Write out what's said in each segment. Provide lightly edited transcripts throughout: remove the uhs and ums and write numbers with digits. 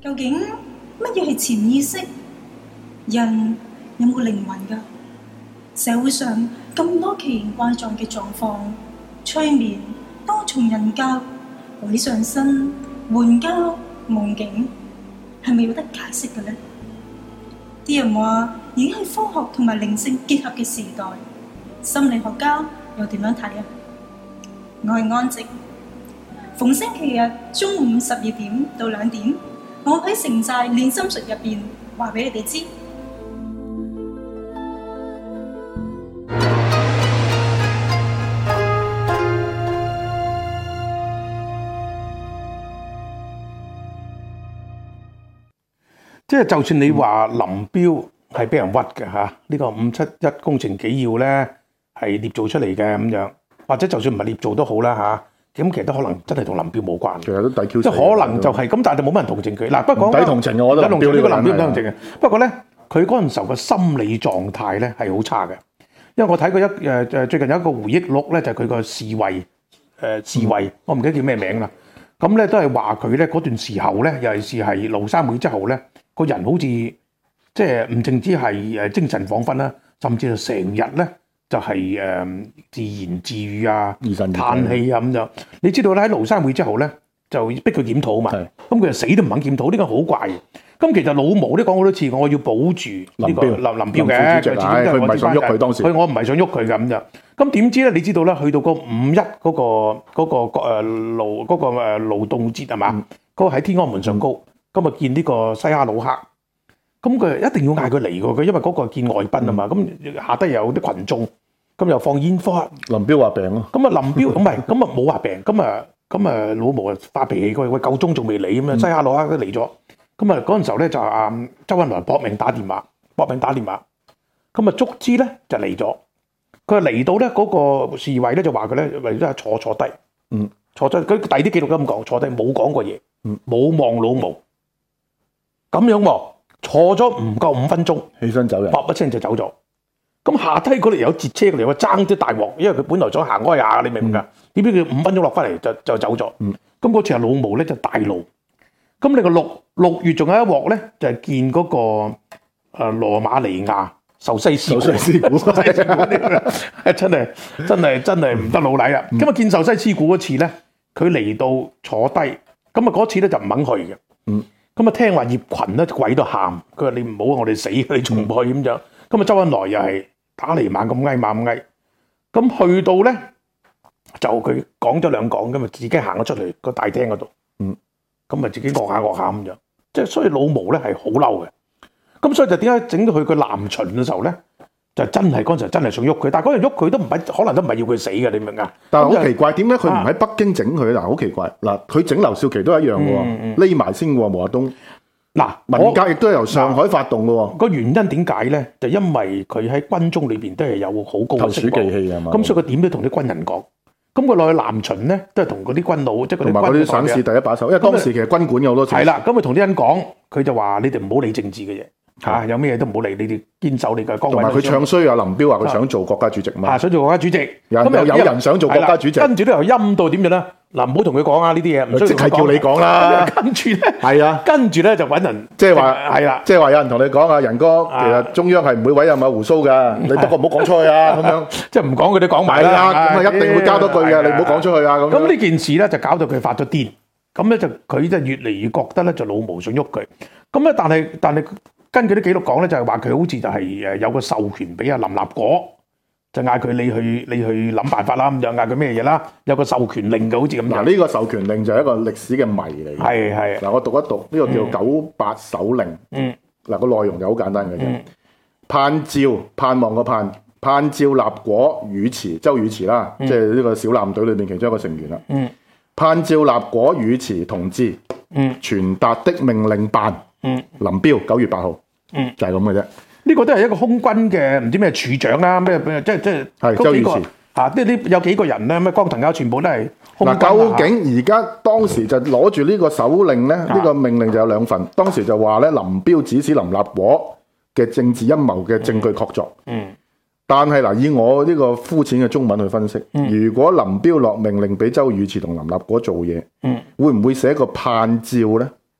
究竟乜嘢係潛意識？人有冇靈魂㗎？社會上咁多奇形怪狀嘅狀況，催眠、多重人格、鬼上身、援交、夢境，係咪有得解釋嘅呢？啲人話已經係科學同埋靈性結合嘅時代，心理學家又點樣睇啊？我係安靜，逢星期日中午12點到2點，我喺城寨練心術入邊話俾你哋知。 即係就算你話林彪係俾人屈嘅嚇，呢個571工程紀要咧係捏造出嚟嘅咁樣，或者就算唔係捏造都好啦嚇，咁其實都可能真係同林彪冇關。其實都抵 Q 死，即係可能就係咁，但係就冇乜人同情佢。嗱，不過抵同情嘅，我覺得林彪呢個林彪唔同情嘅。不過咧，佢嗰陣時候嘅心理狀態咧係好差嘅，因為我睇過最近有一個回憶錄咧，就係佢個侍衛，我唔記得叫咩名啦。咁咧都係話佢咧嗰段時候咧，尤其是係廬山會之後咧。個人好似即係唔淨止係精神恍惚啦，甚至係成日咧就係自言自語啊、嘆氣啊咁樣。你知道咧喺廬山會之後咧就逼佢檢討啊嘛，咁佢就死都唔肯檢討，呢個好怪嘅。咁其實老毛都講好多次，我要保住呢個林彪嘅，佢唔係想喐佢當時，我唔係想喐佢嘅咁樣。咁點知咧？你知道咧，去到個5·1嗰個勞動節係嘛？嗰個喺天安門上高。今日見呢個西哈努克，咁佢一定要嗌佢嚟喎，佢因為嗰個見外賓啊嘛，咁下低有啲群眾，咁又放煙花。林彪話病咯，咁啊林彪唔係，咁啊冇話病，咁啊老毛啊發脾氣，佢喂夠鐘仲未嚟咁樣，西哈努克都嚟咗，咁啊嗰陣時候咧就周恩來搏命打電話，咁啊足之咧就嚟咗，佢嚟到咧嗰個侍衛咧就話佢咧為咗坐低，坐低，佢第啲記錄都咁講，坐低冇講過嘢，冇望老毛。咁樣喎，坐咗唔夠5分鐘，起身走人，啪一聲就走咗。咁下低嗰度有截車嚟，我爭啲大鑊，因為佢本來想行開下，你明唔明啊？點知佢5分鐘落翻嚟就走咗。咁嗰次係老毛咧就大怒。咁你個6月仲有一鑊咧，就係見嗰個羅馬尼亞壽西師傅，真係唔得老禮啦。咁啊見壽西師傅嗰次咧，佢嚟到坐低，咁啊嗰次咧就唔肯去嘅。咁啊聽話葉群咧鬼都喊，佢話你唔好我哋死，你仲唔去咁樣。咁啊周恩來又係打嚟猛咁嗌猛咁嗌，咁去到咧就佢講咗兩講，咁啊自己行咗出嚟個大廳嗰度，咁啊自己惡下咁樣，即係所以老毛咧係好嬲嘅。咁所以就點解整到佢個南巡嘅時候咧，就真係嗰陣時真係想喐佢，但係嗰陣喐佢都唔係，可能都唔係要佢死嘅，你明啊？但係好奇怪，點解佢唔喺北京整佢嗱？好奇怪嗱，佢整劉少奇都一樣嘅喎，匿埋先喎，毛澤東。嗱，文革亦都係由上海發動嘅喎。個原因點解咧？就因為佢喺軍中裏邊都係有好高嘅識技氣啊嘛。咁所以佢點都同啲軍人講。咁佢落去南巡咧，都係同嗰啲軍佬，即係嗰啲軍。同埋嗰啲省市第一把手，因為當時其實軍管有好多錢。係啦，咁佢同啲人講，佢就話：你哋唔好理政治嘅嘢。有咩嘢都唔好理，你哋堅守你嘅崗位。同埋佢唱衰啊，林彪話佢想做國家主席嘛。想做國家主席。咁有人想做國家主席，跟住都又陰到點樣咧？嗱，唔好同佢講啊！呢啲嘢唔需要即係叫你講啦。跟住咧，係啊，跟住咧就揾人，即係話係啦，即係話有人同你講啊，仁哥，其實中央係唔會委任阿胡鬚㗎，你不過唔好講出去啊，咁樣即係唔講佢都講埋啦。咁啊一定會交多句嘅，你唔好講出去啊。咁呢件事咧就搞到佢發咗癲，咁咧就佢就越嚟越覺得咧就老毛想喐佢。咁咧但係根據啲記錄講咧，就係話佢好似就係有個授權俾阿林立果。就嗌佢你去諗辦法啦，咁樣嗌佢咩嘢啦？有個授權令嘅，好似咁。嗱，呢個授權令就係一個歷史嘅謎嚟嘅。係。嗱，我讀一讀呢個叫98手令。嗱，個內容就好簡單嘅啫。盼望個盼照立果語詞，周語詞啦，即係呢個小艦隊裏面其中一個成員啦。盼照立果語詞同志，傳達的命令辦。林彪9月8號。就係咁嘅啫。呢個都係一個空軍嘅唔知咩處長啦，咩即係周語詞嚇，啲有幾個人咧，咩江騰蛟全部都係空軍。究竟而家當時就攞住呢個手令咧，呢個命令就有兩份。當時就話咧，林彪指使林立果嘅政治陰謀嘅證據確鑿。但係嗱，以我呢個膚淺嘅中文去分析，如果林彪落命令俾周語詞同林立果做嘢，會唔會寫個盼照咧？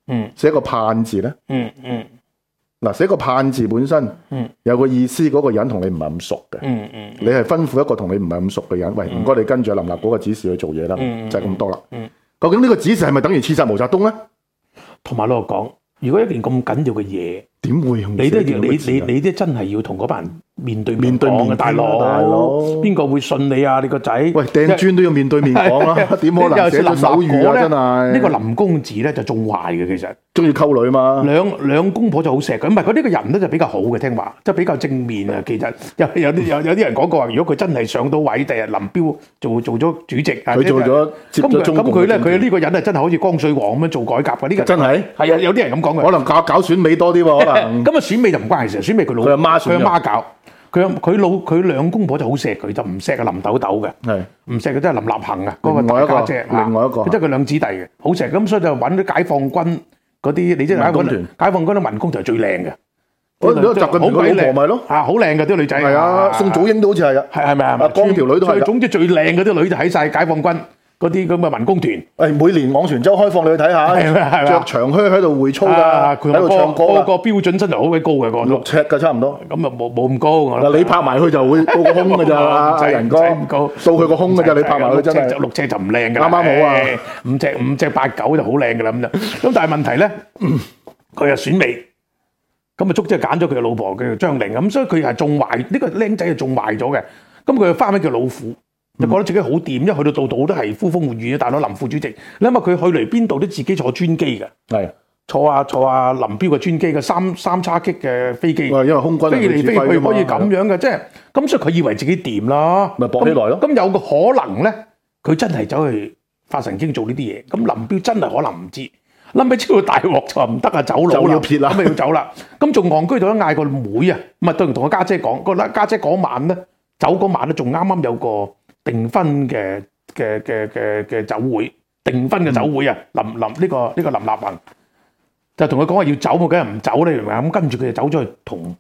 寫個盼字咧？嗱，寫個盼字本身有個意思，嗰個人同你唔係咁熟嘅。你係吩咐一個同你唔係咁熟嘅人，喂，唔該你跟住林立嗰個指示去做嘢啦，就係咁多啦。究竟呢個指示係咪等於刺殺毛澤東咧？同埋我講，如果一件咁緊要嘅嘢，點會用你都真係要同嗰班人面對面講嘅，大佬邊個會信你啊？你個仔喂掟磚都要面對面講啦，點可能寫咗手語啊？真係呢個林公子咧就仲壞嘅，其實中意溝女嘛。兩公婆就好錫佢，唔係佢呢個人咧就比較好嘅，聽話即係比較正面啊。其實有啲人講過話，如果佢真係上到位，第日林彪做咗主席，佢做咗接咗中共，咁佢呢個人係真係好似光緒皇咁樣做改革嘅。呢個真係係啊，有啲人咁講嘅，可能搞選美多啲喎，可能咁啊選美就唔關事，選美佢阿媽搞。佢兩公婆就好錫佢，就唔錫林豆豆嘅，唔錫佢真係林立恒啊，嗰個大家姐，另外一個，即係佢兩子弟嘅，好錫咁，所以就揾啲解放軍嗰啲，你知解放軍啲民工就係最靚嘅，好鬼靚咪咯，好靚嘅啲女仔，係啊，宋祖英都好似係啊，係咪啊？光條女都係，總之最靚嗰啲女就喺晒解放軍嗰啲咁嘅民工團，每年往泉州開放你去睇下，着長靴喺度會操㗎，喺度唱歌，個標準身材好鬼高嘅，個6尺㗎差唔多，咁啊冇咁高。嗱你拍埋去就會到個胸㗎咋，人哥到佢個胸㗎咋，你拍埋去真係6尺就唔靚㗎，啱啱好啊，5尺8、9就好靚㗎啦咁就。咁但係問題咧，佢又選美，咁啊足之係揀咗佢嘅老婆叫做張玲咁，所以佢係仲壞呢個僆仔係仲壞咗嘅。咁佢就花名叫老虎。就覺得自己好掂，因為去到度都係呼風喚雨嘅大佬林副主席。你諗下佢去嚟邊度都自己坐專機嘅，係坐下林彪嘅專機嘅三叉戟嘅飛機，因為空軍飛嚟飛去可以咁樣嘅，即係咁，所以佢以為自己掂啦，咪搏起來咯。咁有個可能咧，佢真係走去發神經做呢啲嘢。咁林彪真係可能唔知，諗起知道大鑊就話唔得啊，走佬啦，咁咪要走啦。咁仲戇居到嗌個妹啊，唔係對同個家姐講，個家姐嗰晚咧走嗰晚咧，仲啱啱有個訂婚嘅酒會，訂婚嘅酒會啊！呢個林立恒就同佢講話要走，我梗係唔走咧，咁跟住佢就走咗去同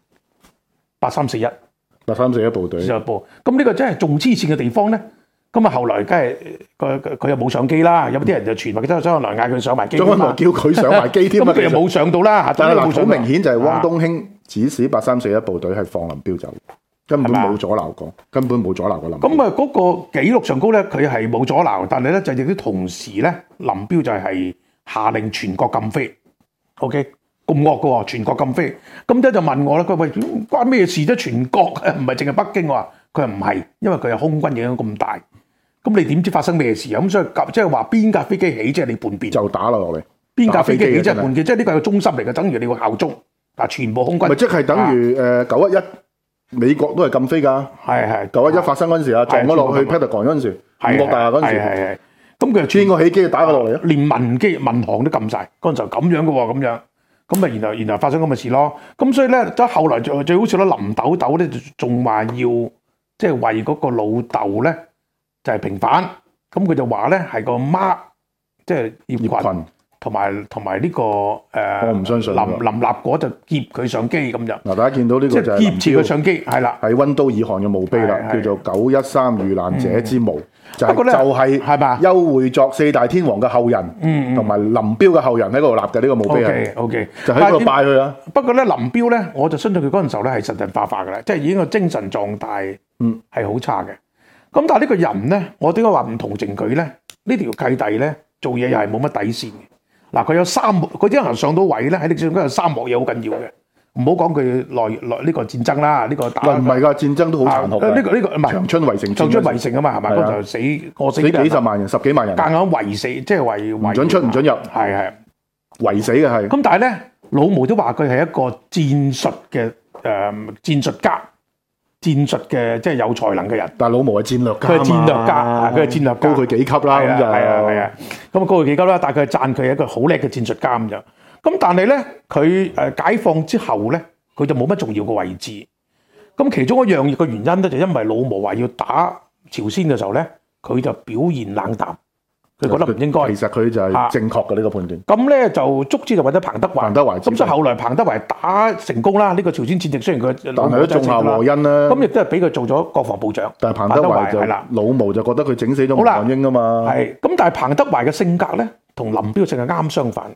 8341部隊就播。咁呢個真係仲黐線嘅地方咧。咁啊後來梗係佢又冇上機啦，有啲人就傳話周恩來嗌佢上埋機，周恩來叫佢上埋機添，咁佢又冇上到啦。但係好明顯就係汪東興指使8341部隊係放林彪走。根本冇阻撓過，根本冇阻撓過林彪。咁啊，嗰個記錄上高咧，佢係冇阻撓，但係咧就亦都同時咧，林彪就係下令全國禁飛。OK， 咁惡嘅喎，全國禁飛。咁即係就問我啦，佢話關咩事啫？全國唔係淨係北京喎。佢話唔係，因為佢係空軍影響咁大。咁你點知發生咩事啊？咁所以即係話邊架飛機起，即係你叛變就打落嚟。邊架飛機起即係叛變，即係呢個係個中心嚟嘅，等於你個效忠。嗱，全部空軍咪即係等於911。美國都係禁飛㗎，係911發生嗰陣時啊，撞咗落去 Pentagon 嗰陣時，五角大廈嗰陣時，係咁佢邊個起機就打佢落嚟啊？連民航都禁晒，嗰陣時候咁樣嘅喎，咁樣咁啊，然後發生咁嘅事咯。咁所以咧，即係後來最好笑啦，林豆豆咧仲話要即係為嗰個老豆咧就係平反，咁佢就話咧係個媽，即係葉群。同埋呢個我唔相信林立果就劫佢相機咁就嗱，大家見到呢個就係劫持佢相機係啦，係溫都爾汗嘅墓碑啦，叫做913遇難者之墓，就係係嘛邱會作4大天王嘅後人，同埋林彪嘅後人喺嗰度立嘅呢個墓碑係 OK， 就喺嗰度拜佢啦。不過咧林彪咧，我就相信佢嗰陣時候咧係神神化嘅啦，即係已經個精神狀態係好差嘅。咁但係呢個人咧，我點解話唔同情佢咧？呢條契弟咧做嘢又係冇乜底線嘅。嗱，佢有3幕，佢啲人上到位咧，喺歷史上都有3幕嘢好緊要嘅。唔好講佢內呢個戰爭啦，呢個打唔係㗎，戰爭都好殘酷嘅。呢個唔係長春圍城，長春圍城啊嘛，係咪？嗰就過死幾十萬人，10幾萬人，夾硬圍死，即係圍唔準出唔準入，係圍死嘅係。咁但係咧，老毛都話佢係一個戰術嘅戰術家。戰術嘅即係有才能嘅人，但係老毛係戰略家，佢係戰略家，佢係戰略高佢幾級啦，咁就係啊，咁高佢幾級啦，但係佢係讚佢係一個好叻嘅戰術家咁就，咁但係咧佢解放之後咧，佢就冇乜重要嘅位置，咁其中一樣嘅原因咧就因為老毛話要打朝鮮嘅時候咧，佢就表現冷淡。佢覺得唔應該，其實佢就係正確嘅呢個判斷。咁咧就足之就揾咗彭德懷，咁所以後來彭德懷打成功啦。呢個朝鮮戰役雖然佢但係都種下禍因啦。咁亦都係俾佢做咗國防部長。但係彭德懷就老毛就覺得佢整死咗吳漢英啊嘛。係咁，但係彭德懷嘅性格咧，同林彪性格啱相反。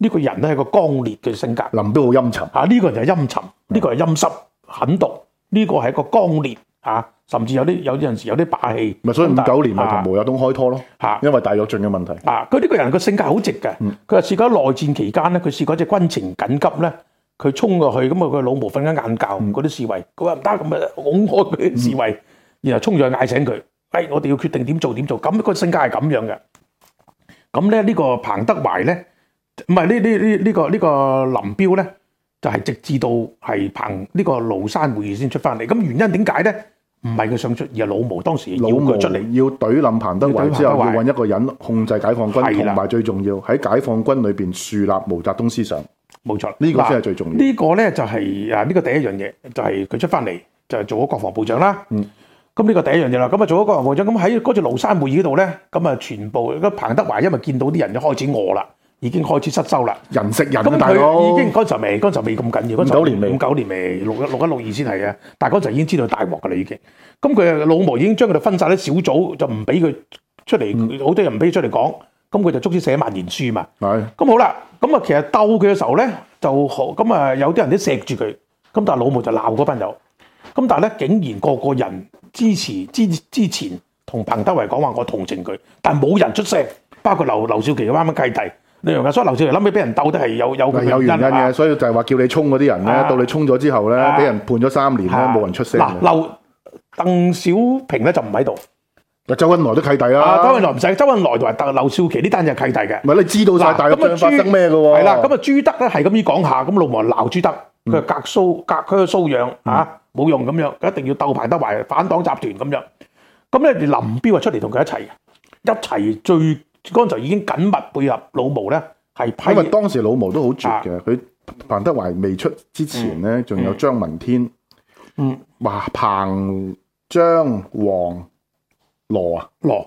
呢個人咧係個剛烈嘅性格。 林彪好陰沉啊！呢個人就係陰沉，呢個係陰濕狠毒，呢個係一個剛烈啊，甚至有啲陣時有啲霸氣。 咪所以59年咪同毛澤東開拖咯。因為大躍進嘅問題。 佢呢個人個性格好直嘅。佢話試過喺內戰期間咧，佢試過隻軍情緊急咧，佢衝過去咁啊，佢老毛瞓緊晏覺，嗰啲侍衛佢話唔得，咁啊拱開佢啲侍衛，然後衝咗去嗌醒佢。我哋要決定點做。咁個性格係咁樣嘅。咁咧呢個彭德懷咧，唔係呢個林彪咧，就係直至到係彭呢個廬山會議先出翻嚟。咁原因點解咧？唔係佢想出，而係老毛當時要佢出嚟，要懟冧彭德懷之後，要揾一個人控制解放軍，同埋最重要喺解放軍裏邊樹立毛澤東思想。冇錯，呢個先係最重要。呢個咧就係呢個第一樣嘢，就係佢出翻嚟就係做咗國防部長啦。咁呢個第一樣嘢啦，咁啊做咗國防部長，咁喺嗰次廬山會議嗰度咧，咁啊全部彭德懷因為見到啲人就開始餓啦，已經開始失收啦，人食人啊大佬！咁佢已經嗰陣時未咁緊要，59年未6162先係嘅，但係嗰陣已經知道大鑊㗎啦已經。咁佢老毛已經將佢哋分散啲小組，就唔俾佢出嚟，好多人唔俾佢出嚟講。咁佢就足之寫萬言書嘛。係。咁好啦，咁啊其實鬥佢嘅時候咧，就好咁啊有啲人都錫住佢，咁但係老毛就鬧嗰班友。咁但係咧，竟然個個人支持之前同彭德懷講話，我同情佢，但係冇人出聲，包括劉少奇嘅啱啱契弟，你明唔明？所以劉少奇諗起俾人鬥得係有原因嘅，所以就係話叫你衝嗰啲人咧，到你衝咗之後咧，俾人判咗3年咧，冇人出聲。嗱，鄧小平咧就唔喺度，周恩來都契弟啦。周恩來唔使，周恩來同埋劉少奇呢單就係契弟嘅。唔係你知道晒大陸發生咩嘅喎？係啦，咁啊朱德咧係咁樣講下，咁老毛鬧朱德，佢隔區嘅搔癢嚇。冇用咁樣，一定要鬥彭德懷反黨集團咁樣。咁咧，林彪啊出嚟同佢一齊最嗰陣就已經緊密配合老毛咧，係批。因為當時老毛都好絕嘅，佢彭德懷未出之前咧，仲有張聞天，話彭張黃羅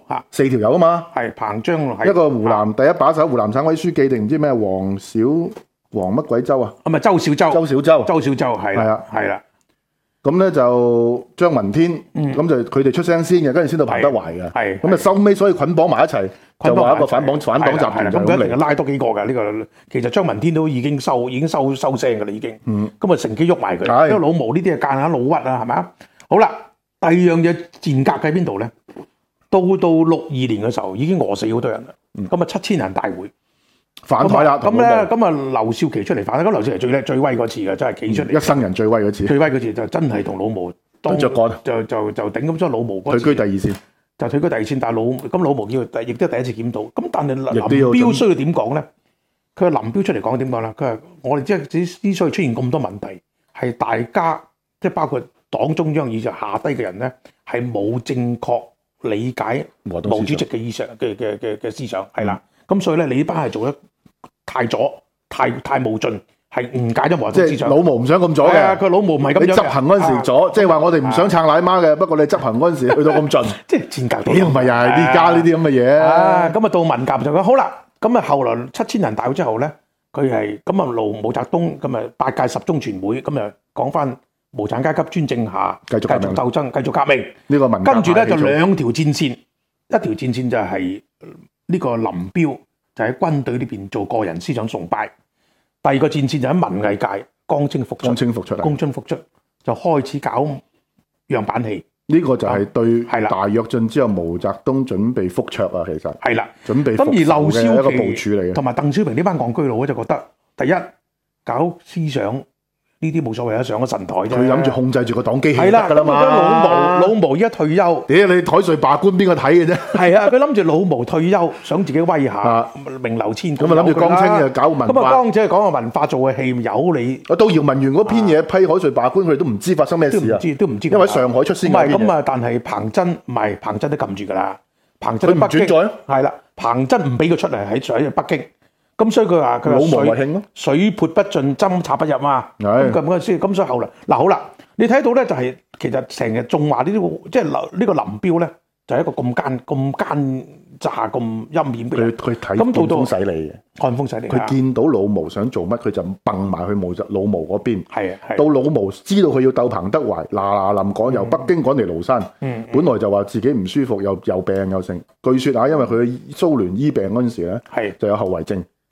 4條友啊嘛，係彭張一個湖南第一把手，湖南省委書記定唔知咩黃乜鬼州啊？係咪周小舟係啦。咁咧就張聞天，咁就佢哋出聲先嘅，跟住先到彭德懷嘅。咁啊收尾所以捆綁埋一齊，就話一個反黨集團咁嚟拉多幾個㗎呢個。其實張聞天都已經收聲㗎啦已經。咁啊乘機喐埋佢，因為老毛呢啲係間下老屈啊，係咪啊？好啦，第二樣嘢賤格喺邊度咧？到62年嘅時候已經餓死好多人啦。咁啊7000人大會。反台啦，咁劉少奇出嚟反，咁劉少奇最威嗰次嘅，真係企出嚟，一生人最威嗰次，就真係同老毛對着幹，就頂咁咗老毛嗰次，退居第二線，但係老毛叫亦都第一次檢討，咁但係林彪需要點講咧？佢話林彪出嚟講點講咧？佢話我哋之所以出現咁多問題，係大家即係包括黨中央以上下低嘅人咧，係冇正確理解毛主席嘅意想嘅思想，係啦。咁所以咧，你呢班係做得太左、太無盡，係誤解咗毛澤東思想。老毛唔想咁左嘅，佢老毛唔係咁樣。你執行嗰陣時左，即係話我哋唔想撐奶媽嘅，不過你執行嗰陣時去到咁盡，即係賤格。屌，唔係又係呢家呢啲咁嘅嘢。咁啊到文革就講好啦。咁啊後來7000人大會之後咧，佢係咁啊毛澤東咁啊8屆10中全會咁啊講翻無產階級專政下繼續鬥爭、繼續革命。呢個文革跟住咧就2條戰線，一條戰線就係。呢個林彪就喺軍隊呢邊做個人思想崇拜，第二個戰線就喺文藝界光清復出，就開始搞樣板戲。呢個就係對大躍進之後毛澤東準備復卓啊，其實係啦，準備復仇嘅一個部署嚟嘅。同埋鄧小平呢班戇居佬，我就覺得第一搞思想。呢啲冇所謂啊，上咗神台啫。佢諗住控制住個黨機器得㗎啦嘛。老毛依家退休，屌你台稅罷官邊個睇嘅啫？係啊，佢諗住老毛退休，想自己威下，名留千古。咁啊諗住江青又搞文化。咁啊江青講個文化做嘅戲有你。到姚文元嗰篇嘢批海稅罷官，佢哋都唔知發生咩事啊？都唔知。因為喺上海出先。唔係咁啊，但係彭真都撳住㗎啦。彭真喺北京。係啦，彭真唔俾佢出嚟喺北京。咁所以佢話老毛為慶咯，水潑不進，針插不入嘛。咁所以後來嗱好啦，你睇到咧就係其實成日仲話呢啲即係呢個林彪咧就係一個咁奸詐咁陰險嘅人。佢睇看風使嚟嘅，看風使嚟。佢見到老毛想做乜，佢就蹦埋去老毛嗰邊。係到老毛知道佢要鬥彭德懷，嗱臨趕由北京趕嚟廬山。本來就話自己唔舒服，又病又剩。據說啊，因為佢蘇聯醫病嗰陣時咧，就有後遺症。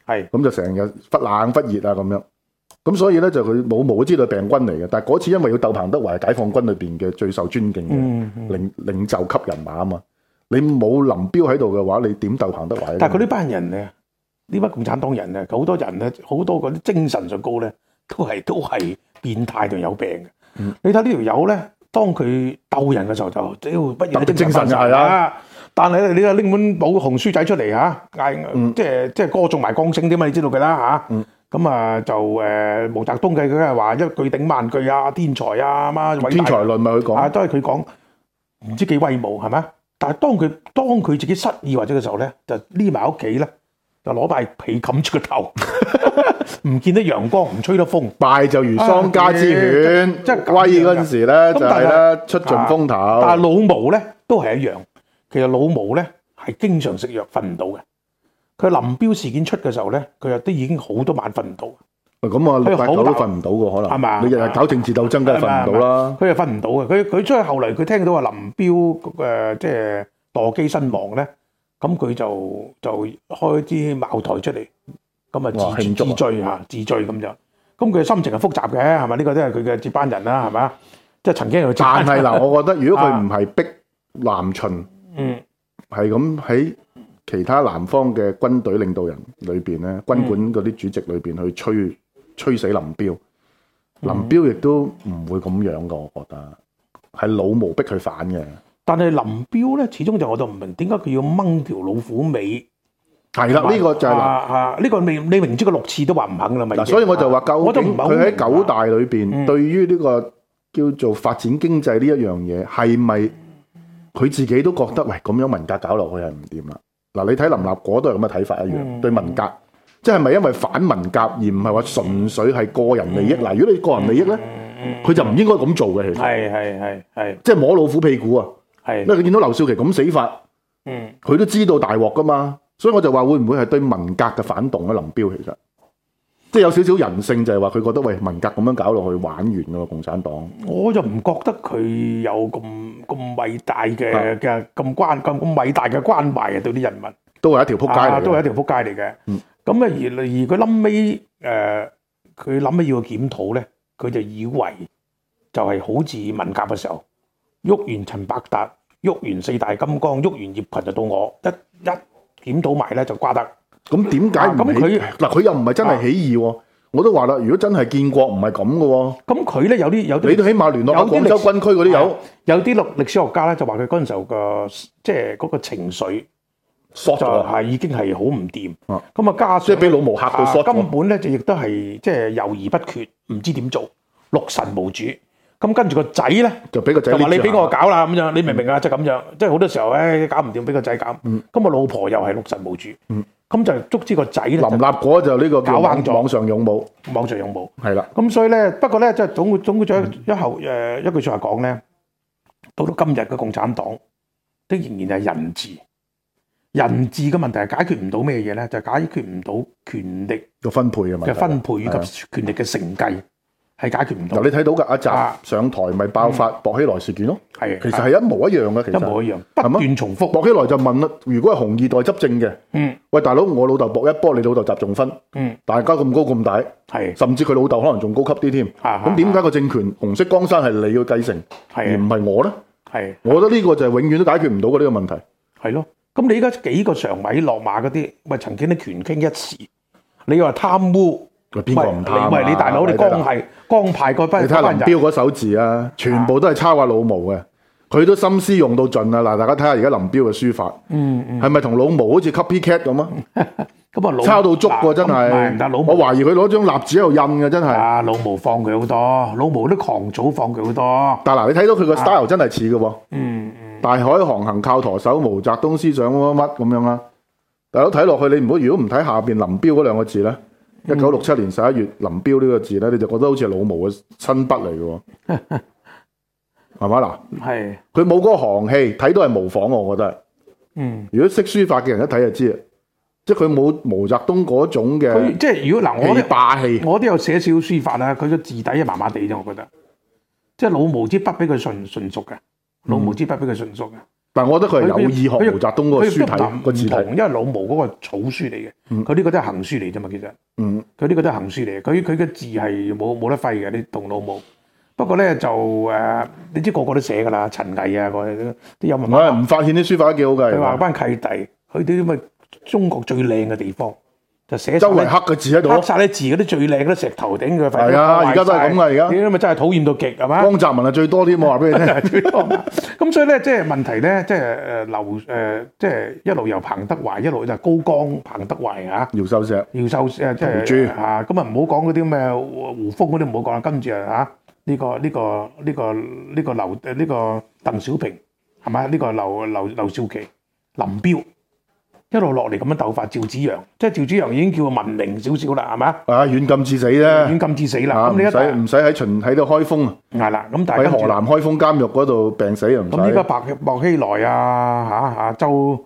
係咁就成日忽冷忽熱啊咁樣。咁所以咧就佢老毛都知道係病軍嚟嘅，但係嗰次因為要鬥彭德懷係解放軍裏邊嘅最受尊敬嘅領袖級人馬啊嘛，你冇林彪喺度嘅話，你點鬥彭德懷？ 但係佢呢班人咧，呢班共產黨人咧，好多人咧，好多嗰啲精神上高咧，都係變態同有病嘅。你睇呢條友咧，當佢鬥人嘅時候就屌不如精神係啦。但係咧，你又拎本武紅書仔出嚟嚇，嗌即係歌頌埋江青啲嘛，你知道嘅啦嚇。咁啊就毛澤東嘅佢係話一句頂萬句啊，天才啊乜天才論咪佢講， 都係佢講，唔知幾威武係咪？但係當佢自己失意或者嘅時候咧，就匿埋屋企咧，就攞塊被冚住個頭，唔見得陽光，唔吹得風， 敗就如喪家之犬，即係威嗰陣時咧就係咧出盡風頭。 但係老毛咧都係一樣，其實老毛咧係經常食藥瞓唔到嘅。佢林彪事件出嘅時候咧，佢又都已經好多晚瞓唔到。 咁啊，6、8、9都瞓唔到嘅可能。係嘛？你日日搞政治鬥爭，梗係瞓唔到啦。佢又瞓唔到嘅。佢出去後嚟，佢聽到話林彪即係墮機身亡咧，咁佢就開啲茅台出嚟，咁啊自醉咁就。咁佢心情係複雜嘅，係咪？呢個都係佢嘅接班人啦，係咪？即係曾經有。 但係嗱，我覺得如果佢唔係逼南巡，係咁喺其他南方嘅軍隊領導人裏邊咧，軍管嗰啲主席裏邊去吹死林彪，林彪亦都唔會咁樣噶，我覺得係老毛逼佢反嘅。 但係林彪咧，始終就我就唔明點解佢要掹條老虎尾。 係啦，呢個就係呢個你明知佢6次都話唔肯啦，咪。 嗱，所以我就話究竟佢喺9大裏邊，對於呢個叫做發展經濟呢一樣嘢，係咪佢自己都覺得喂咁樣文革搞落去係唔掂啦？嗱，你睇林立果都係咁嘅睇法一樣，對文革，即係咪因為反文革而唔係話純粹係個人利益？嗱，如果你個人利益咧，佢就唔應該咁做嘅。其實係，即係摸老虎屁股啊！因為佢見到劉少奇咁死法，佢都知道大鑊噶嘛，所以我就話會唔會係對文革嘅反動咧？林彪其實即係有少少人性，就係話佢覺得喂文革咁樣搞落去玩完噶喎，共產黨。我就唔覺得佢有咁偉大嘅咁偉大嘅關懷啊，對啲人民都係一條撲街嚟嘅，都係一條撲街嚟嘅。咁而佢臨尾佢諗起要檢討咧，佢就以為就係好似文革嘅時候，喐完陳伯達，喐完4大金剛，喐完葉群就到我一檢討埋咧就瓜得。咁點解唔起？嗱，佢又唔係真係起義喎。我都話啦，如果真係建國唔係咁嘅喎。咁佢咧有啲，你都起碼聯絡下廣州軍區嗰啲有啲歷史學家咧就話佢嗰陣時候即係嗰個情緒就係已經係好唔掂。咁啊加上即係俾老毛嚇到縮，根本咧就亦都係即係猶豫不決，唔知點做，六神無主。咁跟住個仔咧就俾個仔就話你俾我搞啦咁樣，你明唔明啊？即係咁樣，即係好多時候搞唔掂，俾個仔搞。咁啊老婆又係六神無主。咁就捉知個仔咧，林立果就呢個搞彎咗網上勇武，網上勇武係啦。咁所以咧，不過咧，即係總括咗一句説話講咧，到今日嘅共產黨都仍然係人治。人治嘅問題係解決唔到咩嘢咧？就係解決唔到權力嘅分配嘅問題，嘅分配以及權力嘅承繼。係解決唔到。嗱，你睇到㗎，阿習上台咪爆發薄熙來事件咯。係，其實係一模一樣嘅，其實一模一樣，不斷重複。薄熙來就問啦：如果係紅二代執政嘅，喂大佬，我老豆薄一波，你老豆習仲勳，大家咁高咁大，係，甚至佢老豆可能仲高級啲添。咁點解個政權紅色江山係你要繼承，而唔係我咧？係，我覺得呢個就係永遠都解決唔到嘅呢個問題。係咯，咁你而家幾個常委落馬嗰啲，喂曾經啲權傾一時，你話貪污？邊個唔貪？喂，你大佬，你江派嗰班，你睇林彪嗰手字啊，全部都係抄下老毛嘅，佢都心思用到盡啊！嗱，大家睇下而家林彪嘅書法，係咪同老毛好似 copycat 咁啊？咁啊，抄到足喎，真係。我懷疑佢攞張蠟紙喺度印嘅，真係。啊，老毛放佢好多，老毛啲狂祖放佢好多。但係嗱，你睇到佢個 style 真係似嘅喎。大海航行靠舵手，毛澤東思想乜乜咁樣啦。大佬睇落去，你如果唔睇下邊林彪嗰兩個字咧。1967年11月，林彪呢個字咧，你就覺得好似係老毛嘅親筆嚟嘅喎，係嘛嗱？係。佢冇嗰個行氣，睇到係模仿，我覺得。如果識書法嘅人一睇就知啦，即係佢冇毛澤東嗰種嘅。即係如果嗱，我霸氣，我都有寫少少書法啦。佢個字底係麻麻地啫，我覺得。即係老毛支筆比佢純熟嘅，老毛支筆比佢純熟嘅。 但係我覺得佢係有意學毛澤東嗰個書體個字體， 因為老毛嗰個草書嚟嘅，佢呢個都係行書嚟啫嘛，其實，佢呢個都係行書嚟嘅，佢嘅字係冇得揮嘅，你同老毛。不過咧就你知個個都寫㗎啦，陳毅啊，啲有文化。 吳法憲啲書法都幾好㗎。 佢話班契弟去啲咁嘅中國最靚嘅地方，就寫周圍刻個字喺度， 刻曬啲字嗰啲最靚嗰啲石頭頂佢。 係啊，而家都係咁㗎，而家。 啲咪真係討厭到極係嘛？ 江澤民係最多啲，我話俾你聽。 最多。咁所以咧，即係問題咧，即係即係一路由彭德懷一路就高江、彭德懷嚇。 姚秀石。 姚秀石即係嚇，咁啊唔好講嗰啲咩胡風嗰啲唔好講啦，跟住嚇。呢個鄧小平係咪？呢個劉少奇、林彪一路落嚟咁樣鬥法，趙紫陽即係趙紫陽已經叫文明少少啦，係嘛？ 軟禁致死啫，軟禁致死啦。咁你唔使喺度開封啊？ 係啦，咁但係喺河南開封監獄嗰度病死又唔使。 咁依家薄熙來啊周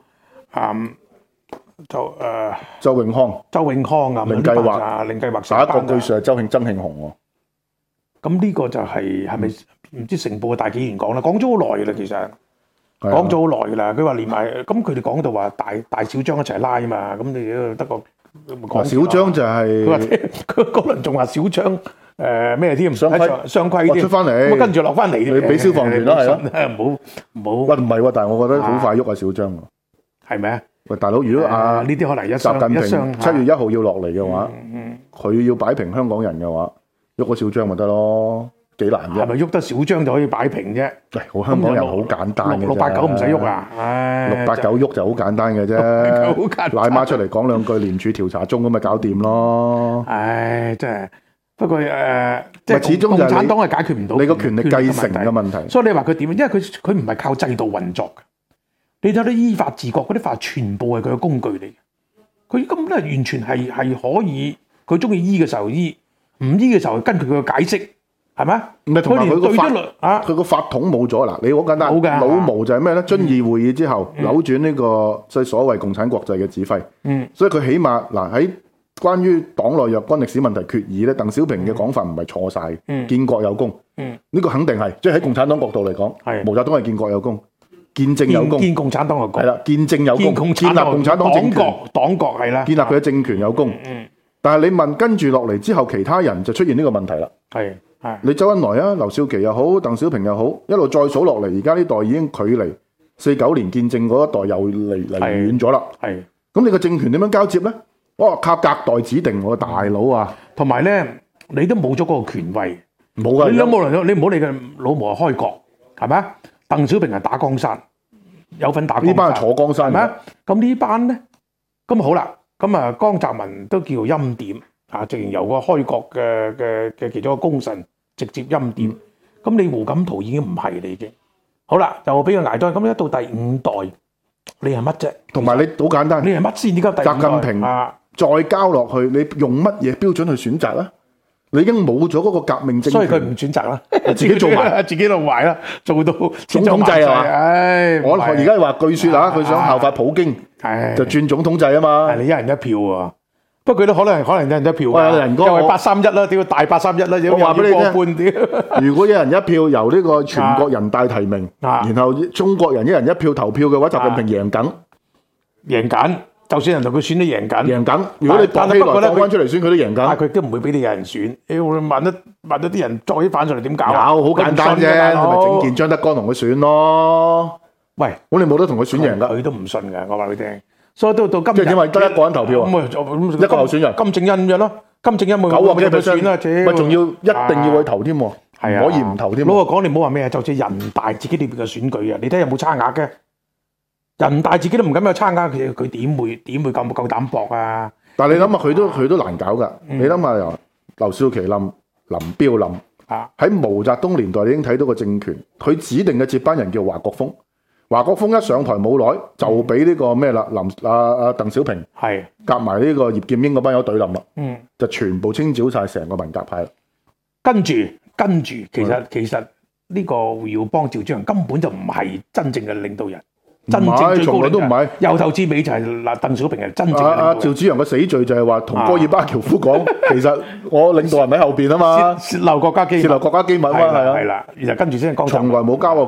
永康啊， 令計劃下一個據說係曾慶紅喎。 咁呢個就係咪唔知成報嘅大紀元講啦？講咗好耐嘅啦，其實講咗好耐嘅啦。佢話連埋咁佢哋講到話大小章一齊拉啊嘛。咁你得個講小章就係佢話佢嗰輪仲話小章咩添？雙規添出翻嚟， 咁跟住落翻嚟， 你俾消防員啦，係咯， 唔好。 喂唔係喎，但係我覺得好快喐啊小章喎， 係咪啊？ 喂大佬，如果呢啲可能習近平7月1號要落嚟嘅話，佢要擺平香港人嘅話。喐個小章咪得咯，幾難啫？ 係咪喐得小章就可以擺平啫？ 好香港人好簡單嘅啫。 689唔使喐啊 ！689喐就好簡單嘅啫。賴媽出嚟講兩句，廉署調查中咁咪搞掂咯。 唉，真係。不過即係始終共產黨係解決唔到你個權力繼承嘅問題。 所以你話佢點？因為佢唔係靠制度運作嘅。你睇啲依法治國嗰啲法，全部係佢嘅工具嚟嘅。佢根本都係完全係可以，佢中意醫嘅時候醫。唔醫嘅時候跟佢嘅解釋係咪？ 唔係同埋佢個法統冇咗嗱，你好簡單。老毛就係咩咧？遵義會議之後扭轉呢個即係所謂共產國際嘅指揮。所以佢起碼嗱喺關於黨內若干歷史問題決議咧，鄧小平嘅講法唔係錯晒。建國有功，呢個肯定係，即係喺共產黨角度嚟講，毛澤東係建國有功，建政有功。 建共產黨有功係啦， 建政有功，建立共產黨政權， 黨國係啦， 建立佢嘅政權有功。但係你問跟住落嚟之後，其他人就出現呢個問題啦。係你周恩來啊、劉少奇又好、鄧小平又好，一路再數落嚟，而家呢代已經距離49年建政嗰一代又離遠咗啦。係咁，你個政權點樣交接咧？哇，靠隔代指定喎，大佬啊！ 同埋咧，你都冇咗嗰個權威， 冇㗎。 你唔好理佢老毛係開國係咪啊？鄧小平係打江山，有份打江山。呢班係坐江山係咪啊？咁呢班咧，咁好啦。咁啊，江澤民都叫欽點啊，直情由個開國嘅其中一個功臣直接欽點。咁你胡錦濤已經唔係你已經。好啦，就俾佢捱多。咁一到第5代，你係乜啫？ 同埋你好簡單， 你係乜先？點解第5代？ 習近平再交落去，你用乜嘢標準去選擇咧？你已經冇咗嗰個革命政權， 所以佢唔選擇啦， 自己做埋， 自己弄壞啦，做到總統制係嘛？唉，我而家話據說佢想效法普京，就轉總統制啊嘛。 係你一人一票喎，不過佢都可能一人一票。 喂，人哥， 又係831啦，屌大831啦， 我話俾你聽， 過半屌。 如果一人一票由呢個全國人大提名，然後中國人一人一票投票嘅話，習近平贏緊。就算人同佢選都贏緊。如果你薄熙來放翻出嚟選，佢都贏緊。但係佢都唔會俾你有人選。問到啲人作起反上嚟點搞？有好簡單啫，你咪整件張德江同佢選咯。喂，我哋冇得同佢選贏㗎。佢都唔信㗎，我話佢聽。所以到今日即係點啊？得一個人投票啊？一個候選人。金正恩咁樣咯，金正恩冇9個選啦，咪仲要一定要去投添喎，唔可以唔投添。老實講，你唔好話咩啊，就似人大自己裏邊嘅選舉啊，你睇有冇差額嘅？人大自己都唔敢有參加，佢點會夠膽搏啊？但係你諗下，佢都難搞㗎。你諗下由劉少奇冧、林彪冧，喺毛澤東年代你已經睇到個政權，佢指定嘅接班人叫華國鋒。華國鋒一上台冇耐，就俾呢個咩啦？鄧小平夾埋呢個葉劍英嗰班友對冧啦，就全部清剿晒成個文革派啦。跟住，其實呢個胡耀邦、趙紫陽根本就唔係真正嘅領導人。真正從來都唔係，由頭至尾就係鄧小平係真正嘅領導人。趙紫陽嘅死罪就係話同戈爾巴喬夫講，其實我領導人喺後邊啊嘛，泄漏國家機密啊嘛，係啦，然後跟住先係江澤民，從來冇交過權。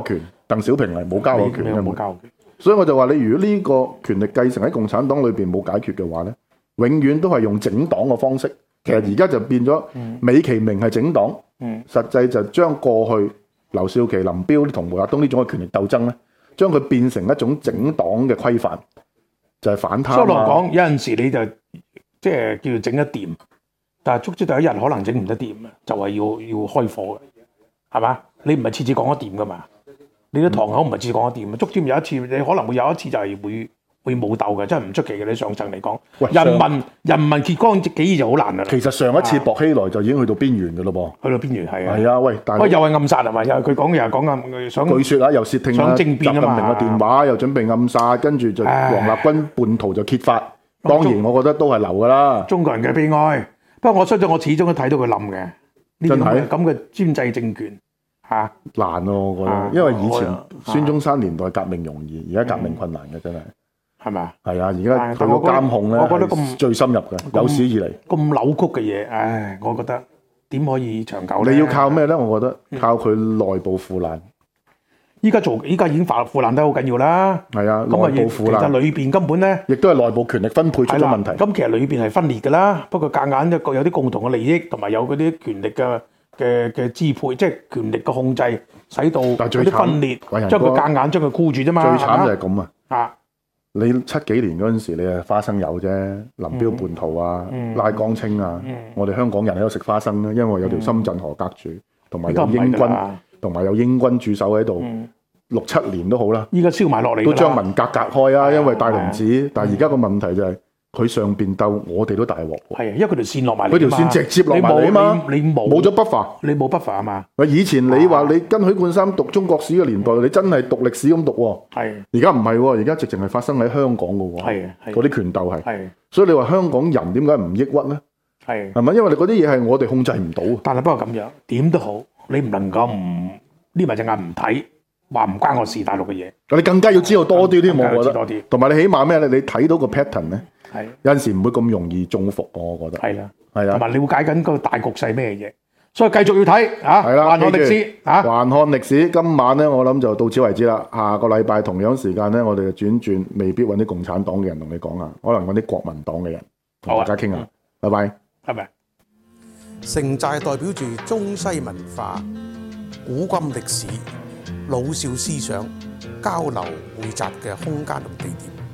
鄧小平係冇交過權嘅， 冇交權。 所以我就話你，如果呢個權力繼承喺共產黨裏邊冇解決嘅話咧，永遠都係用整黨嘅方式。其實而家就變咗美其名係整黨，實際就將過去劉少奇、林彪同毛澤東呢種嘅權力鬥爭咧，將佢變成一種整黨嘅規範，就係反貪。所以嚟講， 有陣時你就即係叫做整得掂，但係足之第一日可能整唔得掂啊，就係要開火嘅，係嘛？你唔係次次講得掂噶嘛？你啲堂口唔係次次講得掂啊！足之有一次，你可能會有一次就係會武鬥嘅，真係唔出奇嘅。你上層嚟講，人民揭竿起義就好難啦。 其實上一次薄熙來就已經去到邊緣嘅咯噃， 去到邊緣係啊。 係啊，喂， 又係暗殺係嘛？又係佢講嘅，又係講暗想。 據説啊，又竊聽想政變啊嘛。 習近平嘅電話又準備暗殺，跟住就王立軍叛徒就揭發。當然，我覺得都係流㗎啦。 中國人嘅悲哀。不過我相信我始終都睇到佢冧嘅。真係咁嘅專制政權。 難咯，我覺得，因為以前孫中山年代革命容易，而家革命困難嘅真係，係咪啊？係啊，而家佢個監控咧， 我覺得咁最深入嘅，有史以嚟咁扭曲嘅嘢，唉，我覺得點可以長久咧？ 你要靠咩咧？我覺得靠佢內部腐爛。 依家已經腐爛得好緊要啦。 係啊，內部腐爛。 其實裏邊根本咧， 亦都係內部權力分配出咗問題。 咁其實裏邊係分裂㗎啦，不過夾硬一個有啲共同嘅利益，同埋有嗰啲權力嘅支配，即係權力嘅控制，使到有啲分裂，將佢夾硬將佢箍住啫嘛。 最慘就係咁啊！你70幾年嗰陣時，你係花生友啫，林彪叛徒啊，拉江青啊，我哋香港人喺度食花生咧，因為有條深圳河隔住，同埋有英軍駐守喺度，6、7年都好啦。 依家燒埋落嚟， 都將文革隔開啊，因為大龍子。但係而家個問題就係。佢上邊鬥，我哋都大鑊。 係啊，因為佢條線落埋嚟， 佢條線直接落埋嚟啊嘛。你冇咗buffer， 你冇 buffer 啊嘛。 以前你話你跟許冠三讀中國史嘅年代，你真係讀歷史咁讀喎。係。而家唔係喎，而家直情係發生喺香港嘅喎。係。嗰啲權鬥係。係。所以你話香港人點解唔抑鬱咧？係。係咪？因為你嗰啲嘢係我哋控制唔到。 但係不過咁樣，點都好，你唔能夠唔匿埋隻眼唔睇，話唔關我事大陸嘅嘢。 你更加要知道多啲添，我覺得。多啲。同埋你起碼咩咧？你睇到個 pattern 咧。係有陣時唔會咁容易中伏，我覺得係啦，係啦，同埋了解緊個大局勢咩嘢，所以繼續要睇嚇。係啦，環看歷史嚇，環看歷史。今晚咧，我諗就到此為止啦。下個禮拜同樣時間咧，我哋就轉，未必揾啲共產黨嘅人同你講啊，可能揾啲國民黨嘅人同大家傾下。拜拜，拜拜。 城寨代表住中西文化、古今歷史、老少思想交流匯集嘅空間同地點。